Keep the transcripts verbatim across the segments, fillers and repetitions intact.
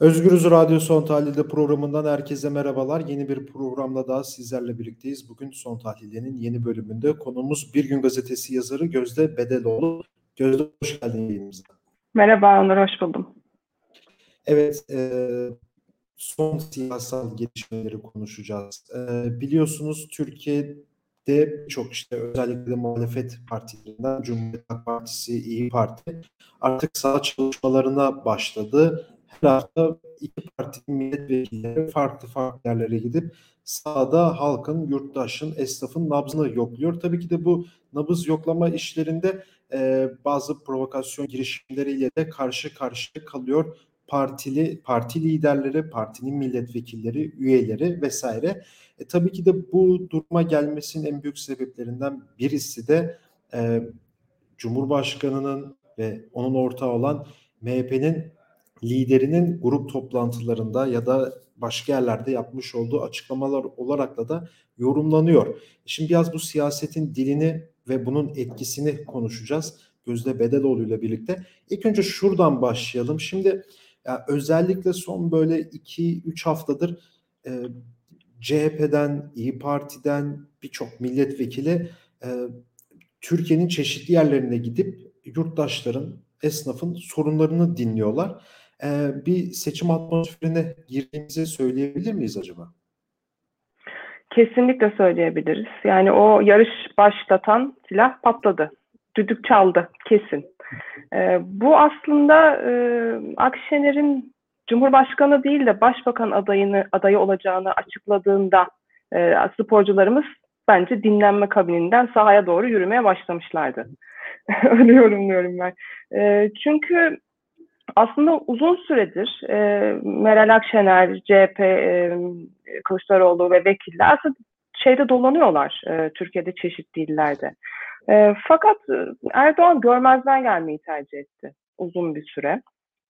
Özgürüz Radyo Son Tahlil'de programından herkese merhabalar. Yeni bir programla daha sizlerle birlikteyiz. Bugün Son Tahlil'in yeni bölümünde konuğumuz Bir Gün Gazetesi yazarı Gözde Bedeloğlu. Gözde, hoş geldin yayınımıza. Merhaba Onur, hoş buldum. Evet, e, son siyasal gelişmeleri konuşacağız. E, biliyorsunuz Türkiye'de çok işte özellikle muhalefet partilerinden Cumhuriyet Halk Partisi, İyi Parti artık saha çalışmalarına başladı. Her hafta iki partinin milletvekilleri farklı farklı yerlere gidip sahada halkın, yurttaşın, esnafın nabzını yokluyor. Tabii ki de bu nabız yoklama işlerinde e, bazı provokasyon girişimleriyle de karşı karşıya kalıyor partili parti liderleri, partinin milletvekilleri, üyeleri vesaire. E, tabii ki de bu duruma gelmesinin en büyük sebeplerinden birisi de e, Cumhurbaşkanı'nın ve onun ortağı olan M H P'nin liderinin grup toplantılarında ya da başka yerlerde yapmış olduğu açıklamalar olarak da da yorumlanıyor. Şimdi biraz bu siyasetin dilini ve bunun etkisini konuşacağız Gözde Bedeloğlu ile birlikte. İlk önce şuradan başlayalım. Şimdi ya özellikle son böyle iki üç haftadır e, C H P'den, İyi Parti'den birçok milletvekili e, Türkiye'nin çeşitli yerlerine gidip yurttaşların, esnafın sorunlarını dinliyorlar. Ee, bir seçim atmosferine girdiğimizi söyleyebilir miyiz acaba? Kesinlikle söyleyebiliriz. Yani o yarış başlatan silah patladı. Düdük çaldı kesin. Ee, bu aslında e, Akşener'in Cumhurbaşkanı değil de Başbakan adayını adayı olacağını açıkladığında e, sporcularımız bence dinlenme kabininden sahaya doğru yürümeye başlamışlardı. Öyle yorumluyorum ben. E, çünkü aslında uzun süredir e, Meral Akşener, C H P, e, Kılıçdaroğlu ve vekiller aslında şeyde dolanıyorlar e, Türkiye'de çeşitli illerde. E, fakat Erdoğan görmezden gelmeyi tercih etti uzun bir süre.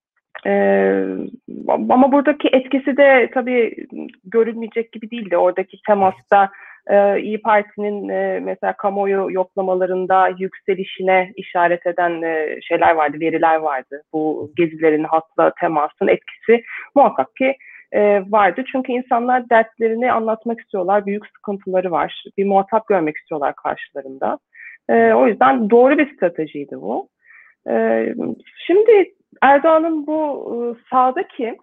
Ee, ama buradaki etkisi de tabii görülmeyecek gibi değildi. Oradaki temasta e, İyi Parti'nin e, mesela kamuoyu yoklamalarında yükselişine işaret eden e, şeyler vardı, veriler vardı. Bu gezilerin halkla temasın etkisi muhakkak ki e, vardı. Çünkü insanlar dertlerini anlatmak istiyorlar, büyük sıkıntıları var. Bir muhatap görmek istiyorlar karşılarında. E, o yüzden doğru bir stratejiydi bu. E, şimdi Erdoğan'ın bu e, sahadaki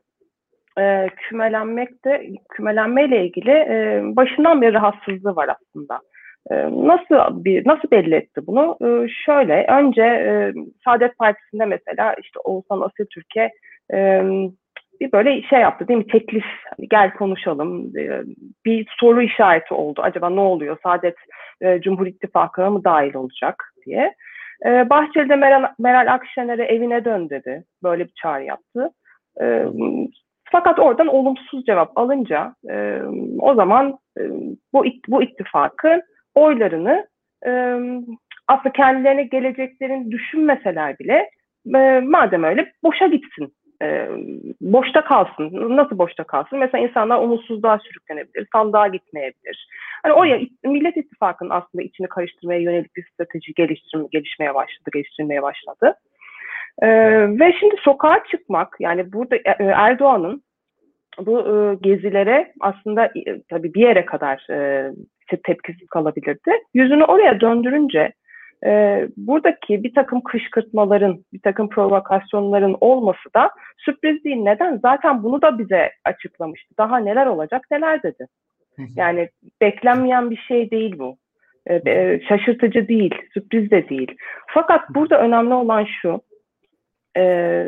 e, kümelenmekte kümelenmeyle ilgili e, başından beri rahatsızlığı var aslında. E, nasıl bir nasıl belli etti bunu? E, şöyle önce e, Saadet Partisi'nde mesela işte Oğuzhan Asiltürk'e e, bir böyle şey yaptı değil mi? Teklif, hani gel konuşalım. E, bir soru işareti oldu. Acaba ne oluyor? Saadet e, Cumhur İttifakı'na mı dahil olacak diye. Ee, Bahçeli de Meral, Meral Akşener'e evine dön dedi. Böyle bir çağrı yaptı. Ee, fakat oradan olumsuz cevap alınca e, o zaman e, bu, bu ittifakın oylarını e, aslında kendilerine geleceklerini düşünmeseler bile e, madem öyle boşa gitsin. E, boşta kalsın. Nasıl boşta kalsın? Mesela insanlar umutsuzluğa sürüklenebilir, sandığa gitmeyebilir. Hani o ya Millet İttifakı'nın aslında içini karıştırmaya yönelik bir strateji geliştirme, gelişmeye başladı, geliştirmeye başladı. Ee, ve şimdi sokağa çıkmak, yani burada Erdoğan'ın bu e, gezilere aslında e, tabii bir yere kadar e, tepkisiz kalabilirdi. Yüzünü oraya döndürünce e, buradaki bir takım kışkırtmaların, bir takım provokasyonların olması da sürpriz değil. Neden? Zaten bunu da bize açıklamıştı. Daha neler olacak, neler dedi. Yani beklenmeyen bir şey değil bu. E, şaşırtıcı değil, sürpriz de değil. Fakat burada önemli olan şu, e,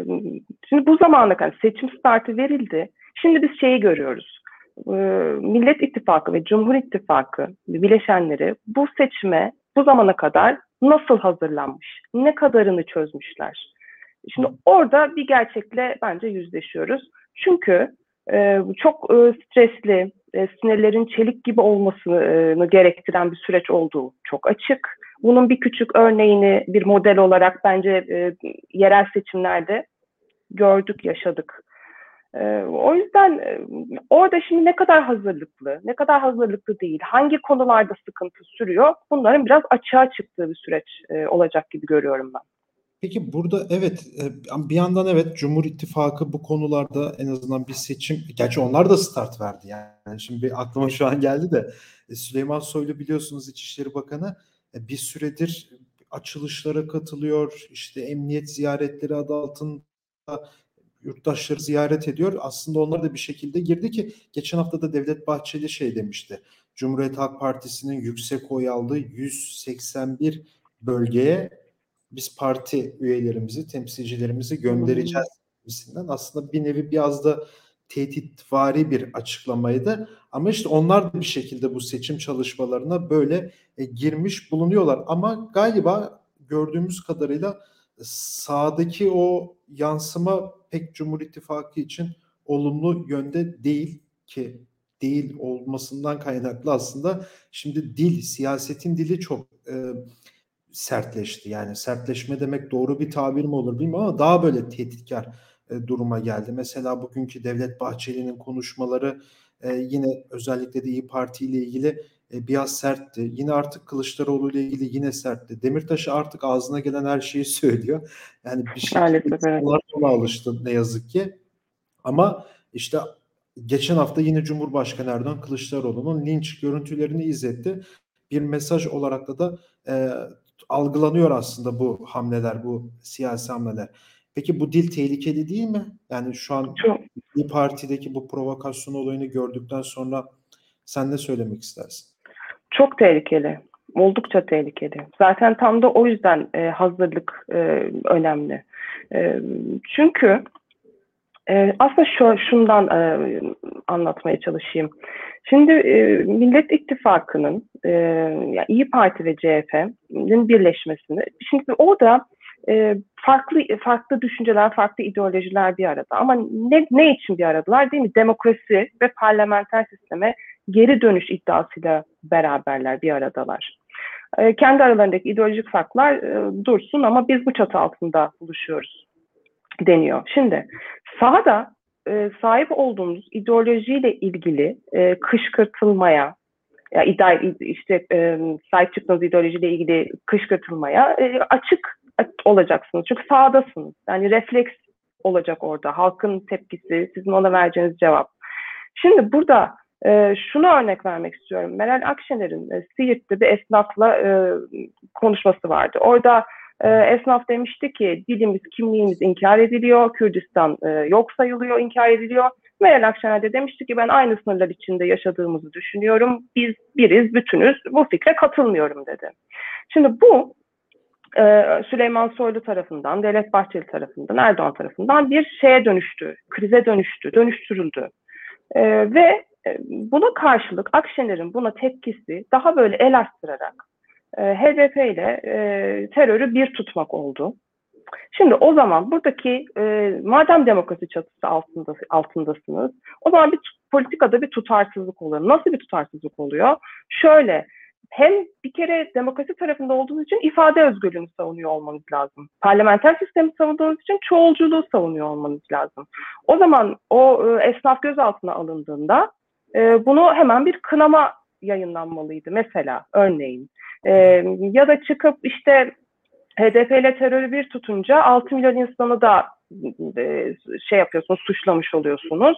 şimdi bu zamana kadar seçim startı verildi. Şimdi biz şeyi görüyoruz. E, Millet İttifakı ve Cumhur İttifakı bileşenleri bu seçime bu zamana kadar nasıl hazırlanmış, ne kadarını çözmüşler. Şimdi orada bir gerçekle bence yüzleşiyoruz. Çünkü e, çok e, stresli, e, sinirlerin çelik gibi olmasını gerektiren bir süreç olduğu çok açık. Bunun bir küçük örneğini bir model olarak bence e, yerel seçimlerde gördük, yaşadık. E, o yüzden e, orada şimdi ne kadar hazırlıklı, ne kadar hazırlıklı değil, hangi konularda sıkıntı sürüyor, bunların biraz açığa çıktığı bir süreç e, olacak gibi görüyorum ben. Peki burada evet e, bir yandan evet Cumhur İttifakı bu konularda en azından bir seçim, gerçi onlar da start verdi yani. Şimdi bir aklıma şu an geldi de e, Süleyman Soylu biliyorsunuz İçişleri Bakanı e, bir süredir açılışlara katılıyor, işte emniyet ziyaretleri adı altında yurttaşları ziyaret ediyor. Aslında onlar da bir şekilde girdi ki geçen hafta da Devlet Bahçeli şey demişti. Cumhuriyet Halk Partisi'nin yüksek oy aldığı yüz seksen bir bölgeye biz parti üyelerimizi, temsilcilerimizi Hmm. göndereceğiz gibisinden. Aslında bir nevi biraz da tehditvari bir açıklamaydı. Ama işte onlar da bir şekilde bu seçim çalışmalarına böyle e, girmiş bulunuyorlar. Ama galiba gördüğümüz kadarıyla sağdaki o yansıma pek Cumhur İttifakı için olumlu yönde değil ki değil olmasından kaynaklı aslında şimdi dil, siyasetin dili çok e, sertleşti. Yani sertleşme demek doğru bir tabir mi olur bilmiyorum ama daha böyle tehditkar e, duruma geldi. Mesela bugünkü Devlet Bahçeli'nin konuşmaları e, yine özellikle de İYİ Parti ile ilgili e, biraz sertti. Yine artık Kılıçdaroğlu ile ilgili yine sertti. Demirtaş artık ağzına gelen her şeyi söylüyor. Yani bir şekilde Maalesef evet. insanlar ona alıştı ne yazık ki. Ama işte geçen hafta yine Cumhurbaşkanı Erdoğan Kılıçdaroğlu'nun linç görüntülerini izletti. Bir mesaj olarak da da e, algılanıyor aslında bu hamleler, bu siyasi hamleler. Peki bu dil tehlikeli değil mi? Yani şu an Çok, bir partideki bu provokasyon olayını gördükten sonra sen ne söylemek istersin? çok tehlikeli. Oldukça tehlikeli. Zaten tam da o yüzden e, hazırlık e, önemli. E, çünkü e, aslında şu, şundan e, anlatmaya çalışayım. Şimdi e, Millet İttifakı'nın e, yani İyi Parti ve C H P'nin birleşmesini, şimdi orada e, farklı farklı düşünceler, farklı ideolojiler bir arada. Ama ne, ne için bir aradalar değil mi? Demokrasi ve parlamenter sisteme geri dönüş iddiasıyla beraberler, bir aradalar. E, kendi aralarındaki ideolojik farklar e, dursun ama biz bu çatı altında buluşuyoruz deniyor. Şimdi sahada e, sahip olduğumuz ideolojiyle ilgili e, kışkırtılmaya, ya iddia, işte e, sahip çıktığınız ideolojiyle ilgili kışkırtılmaya e, açık olacaksınız. Çünkü sahadasınız. Yani refleks olacak orada. Halkın tepkisi, sizin ona vereceğiniz cevap. Şimdi burada e, şunu örnek vermek istiyorum. Meral Akşener'in e, Siirt'te bir esnafla e, konuşması vardı. Orada e, esnaf demişti ki dilimiz, kimliğimiz inkar ediliyor, Kürdistan e, yok sayılıyor, inkar ediliyor. Meral Akşener de demişti ki ben aynı sınırlar içinde yaşadığımızı düşünüyorum. Biz biriz, bütünüz. Bu fikre katılmıyorum dedi. Şimdi bu e, Süleyman Soylu tarafından, Devlet Bahçeli tarafından, Erdoğan tarafından bir şeye dönüştü, krize dönüştü, dönüştürüldü. E, ve e, buna karşılık Akşener'in buna tepkisi daha böyle el astırarak e, H D P ile e, terörü bir tutmak oldu. Şimdi o zaman buradaki e, madem demokrasi çatısı altında, altındasınız, o zaman bir politikada bir tutarsızlık oluyor. Nasıl bir tutarsızlık oluyor? Şöyle, hem bir kere demokrasi tarafında olduğunuz için ifade özgürlüğünü savunuyor olmanız lazım. Parlamenter sistemi savunduğunuz için çoğulculuğu savunuyor olmanız lazım. O zaman o e, esnaf gözaltına alındığında e, bunu hemen bir kınama yayınlanmalıydı mesela örneğin. E, ya da çıkıp işte H D P ile terörü bir tutunca altı milyon insanı da e, şey yapıyorsunuz, suçlamış oluyorsunuz.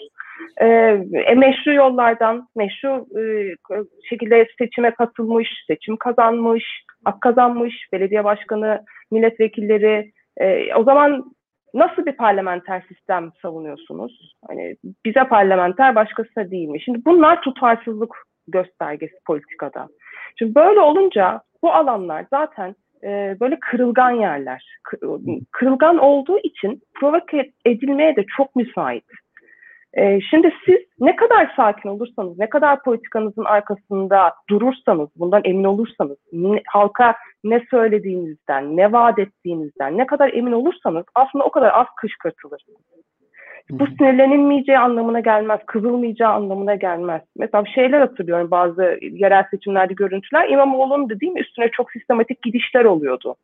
E, meşru yollardan, meşru e, şekilde seçime katılmış, seçim kazanmış, hak kazanmış, belediye başkanı, milletvekilleri. E, o zaman nasıl bir parlamenter sistem savunuyorsunuz? Hani bize parlamenter, başkasına değil mi? Şimdi bunlar tutarsızlık göstergesi politikada. Şimdi böyle olunca bu alanlar zaten e, böyle kırılgan yerler. Kırılgan olduğu için provoke edilmeye de çok müsait. E, şimdi siz ne kadar sakin olursanız, ne kadar politikanızın arkasında durursanız, bundan emin olursanız, ne, halka ne söylediğinizden, ne vaat ettiğinizden ne kadar emin olursanız aslında o kadar az kışkırtılırsınız. Bu sinirlenilmeyeceği anlamına gelmez, kızılmayacağı anlamına gelmez. Mesela şeyler hatırlıyorum, bazı yerel seçimlerde görüntüler, İmamoğlu'nun da değil mi üstüne çok sistematik gidişler oluyordu.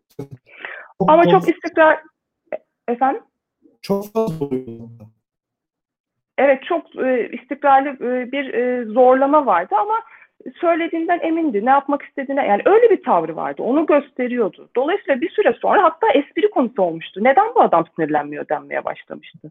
Çok Ama fazla, çok istikrar... Efendim? çok fazla oluyor. Evet, çok e, istikrarlı e, bir e, zorlama vardı ama söylediğinden emindi. Ne yapmak istediğine, yani öyle bir tavrı vardı. Onu gösteriyordu. Dolayısıyla bir süre sonra hatta espri konusu olmuştu. Neden bu adam sinirlenmiyor denmeye başlamıştı.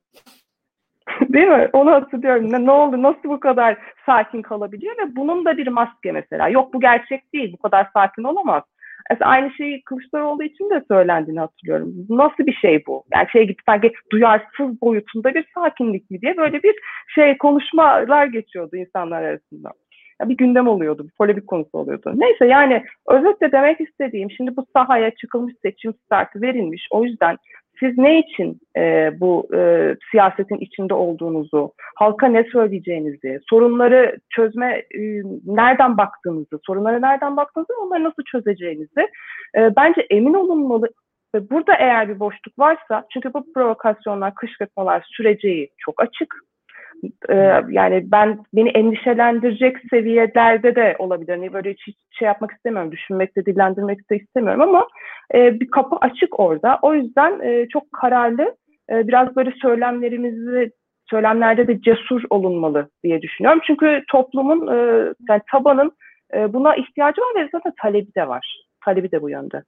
Değil mi? Onu hatırlıyorum. Ne, ne oldu? Nasıl bu kadar sakin kalabiliyor? Ve bunun da bir maske mesela. Yok, bu gerçek değil. Bu kadar sakin olamaz. Mesela aynı şeyi Kılıçdaroğlu için de söylendiğini hatırlıyorum. Nasıl bir şey bu? Yani şey gibi, sanki duyarsız boyutunda bir sakinlik mi diye böyle bir şey, konuşmalar geçiyordu insanlar arasında. Ya bir gündem oluyordu, bir polemik konusu oluyordu. Neyse, yani özetle demek istediğim, şimdi bu sahaya çıkılmış, seçim startı verilmiş. O yüzden siz ne için e, bu e, siyasetin içinde olduğunuzu, halka ne söyleyeceğinizi, sorunları çözme, e, nereden baktığınızı, sorunlara nereden baktığınızı, onları nasıl çözeceğinizi e, bence emin olunmalı. Ve burada eğer bir boşluk varsa, çünkü bu provokasyonlar, kışkırtmalar süreceği çok açık. Ee, yani ben, beni endişelendirecek seviyelerde de olabilir. Yani böyle hiç şey yapmak istemiyorum, düşünmek de, dillendirmek de istemiyorum ama e, bir kapı açık orada. O yüzden e, çok kararlı, e, biraz böyle söylemlerimizi, söylemlerde de cesur olunmalı diye düşünüyorum. Çünkü toplumun, e, yani tabanın e, buna ihtiyacı var ve zaten talebi de var. Talebi de bu yönde.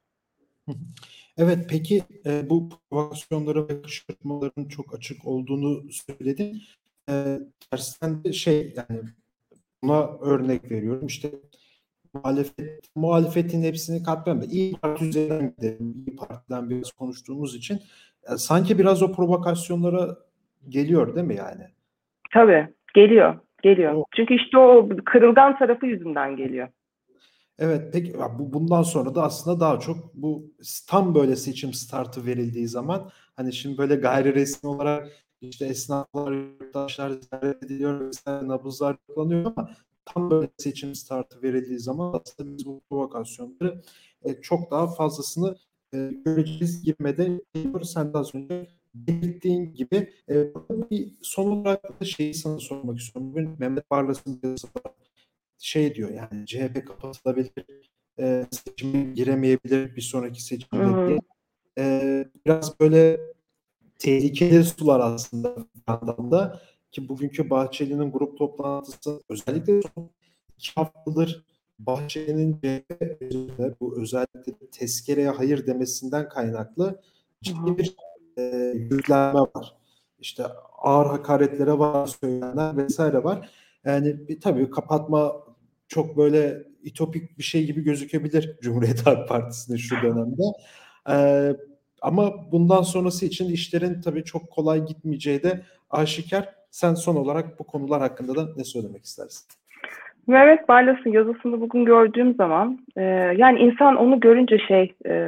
Evet, peki e, bu provokasyonlara ve kışkırtmaların çok açık olduğunu söyledin. E, tersten de şey, yani buna örnek veriyorum. İşte muhalefet, muhalefetin hepsini katmıyorum da İYİ Parti üzerinden gidelim. İYİ Parti'den biraz konuştuğumuz için e, sanki biraz o provokasyonlara geliyor değil mi yani? Tabii geliyor, geliyor. O, Çünkü işte o kırılgan tarafı yüzünden geliyor. evet, peki ya bu bundan sonra da aslında daha çok bu tam böyle seçim startı verildiği zaman, hani şimdi böyle gayri resmi olarak işte esnaflar, yurttaşlar ziyaret ediliyor, vesaire, nabızlar kullanıyor ama tam böyle seçim startı verildiği zaman aslında biz bu provokasyonları e, çok daha fazlasını e, göreceğiz girmede geliyoruz. Sen de az önce belirttiğin gibi e, bir son olarak da şeyi sana sormak istiyorum. Bugün Mehmet Barlas'ın yazısı var, şey diyor, yani C H P kapatılabilir, e, seçime giremeyebilir bir sonraki Hı seçimde hı. diye. E, biraz böyle tehlikeli sular aslında bir yandan da, ki bugünkü Bahçeli'nin grup toplantısı, özellikle son iki haftadır Bahçeli'nin C H P üzerinde bu özellikle tezkereye hayır demesinden kaynaklı Hı ciddi hı. bir e, yüklenme var. İşte ağır hakaretlere var, söylenenler vesaire var. Yani bir, tabii kapatma çok böyle ütopik bir şey gibi gözükebilir Cumhuriyet Halk Partisi'nin şu dönemde. Ee, ama bundan sonrası için işlerin tabii çok kolay gitmeyeceği de aşikar. Sen son olarak bu konular hakkında da ne söylemek istersin? Mehmet Barlas'ın yazısını bugün gördüğüm zaman, e, yani insan onu görünce şey, e,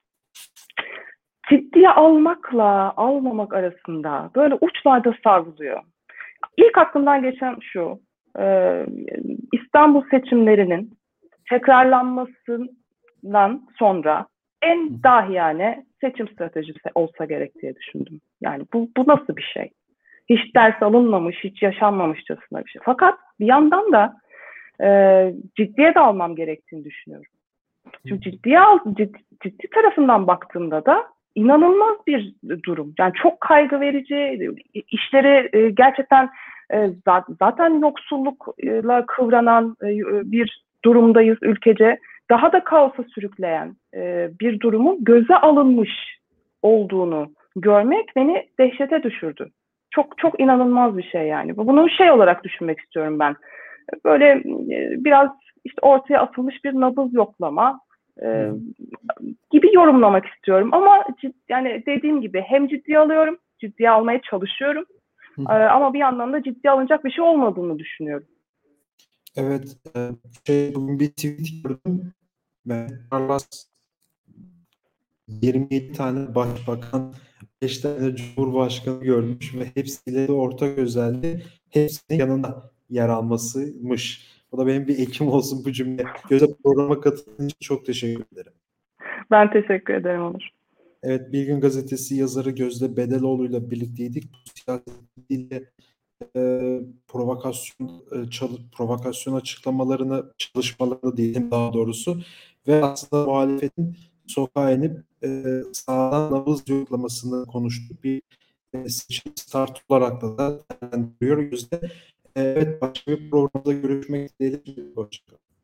ciddiye almakla almamak arasında böyle uçlarda savruluyor. İlk aklımdan geçen şu: e, İstanbul seçimlerinin tekrarlanmasından sonra en dahiyane seçim stratejisi olsa gerek diye düşündüm. Yani bu, bu nasıl bir şey? Hiç ders alınmamış, hiç yaşanmamışçasına bir şey. Fakat bir yandan da e, ciddiye de almam gerektiğini düşünüyorum. Çünkü ciddiye al, ciddi, ciddi tarafından baktığımda da inanılmaz bir durum. Yani çok kaygı verici, işleri e, gerçekten e, zaten yoksullukla kıvranan e, bir durumdayız ülkece. Daha da kaosa sürükleyen e, bir durumun göze alınmış olduğunu görmek beni dehşete düşürdü. Çok çok inanılmaz bir şey yani. Bunu şey olarak düşünmek istiyorum ben. Böyle e, biraz işte ortaya atılmış bir nabız yoklama e, gibi yorumlamak istiyorum. Ama cid, yani dediğim gibi hem ciddiye alıyorum, ciddiye almaya çalışıyorum. E, ama bir yandan da ciddiye alınacak bir şey olmadığını düşünüyorum. Evet, e, şey, bugün bir tweet gördüm. Mehmet Barlas yirmi yedi tane başbakan, beş tane cumhurbaşkanı görmüş ve hepsiyle de ortak özelliği hepsinin yanında yer almasıymış. Bu da benim bir ekim olsun bu cümle. Göze, programa katıldığın için çok teşekkür ederim. Ben teşekkür ederim Onur. Evet, Bir Gün Gazetesi yazarı Gözde Bedeloğlu'yla birlikteydik. Bu siyasetiyle e, provokasyon e, çalı, provokasyon açıklamalarını, çalışmalarını diyelim daha doğrusu, ve aslında muhalefetin sokağa inip e, sağdan nabız yoklamasını konuştuk. Bir e, seçim start olarak da değerlendiriyor Gözde. Evet, başka bir programda görüşmek dileğiyle. Hoşçakalın.